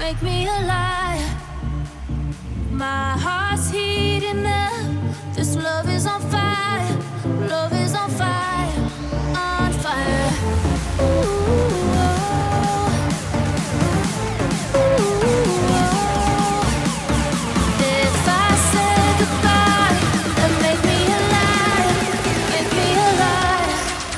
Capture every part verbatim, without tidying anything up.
make me a liar. My heart's heating up. This love is on fire. Love is on fire. On fire. Ooh, oh. Ooh, oh. If I say goodbye, then make me a liar. Make me a liar.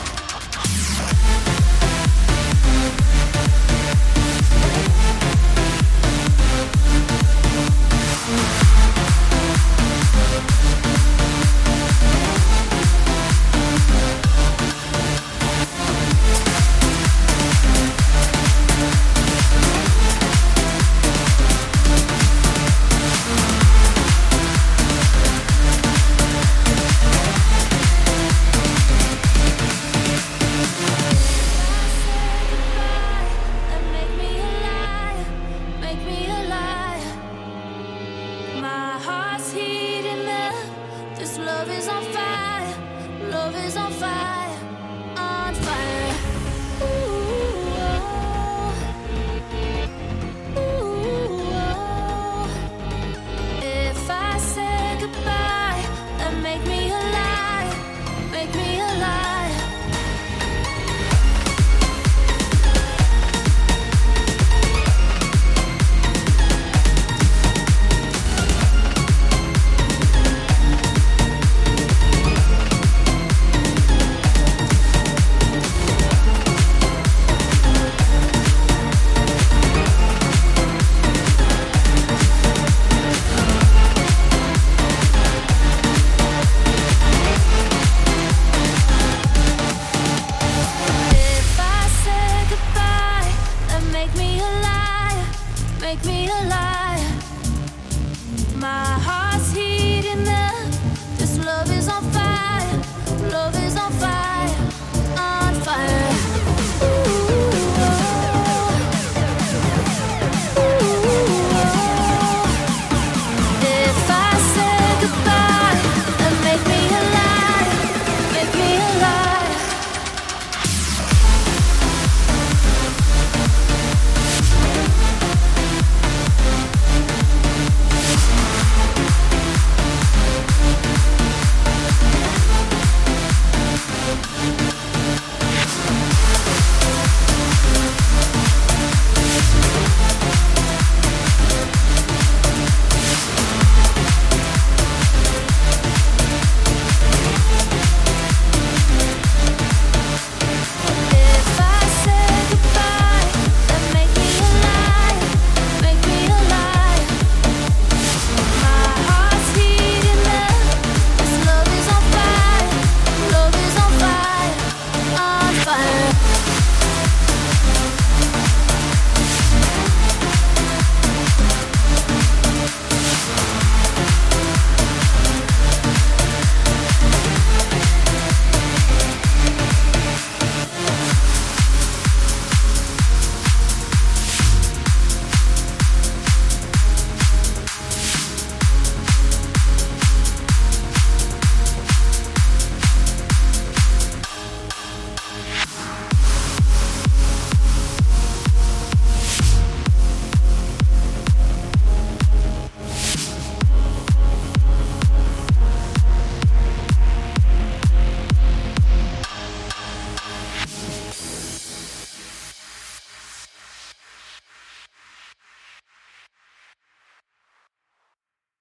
Love is on fire, love is on fire, on fire. Ooh, oh. Ooh, oh. If I say goodbye, then make me a liar, make me a liar. Make me a liar, make me a liar.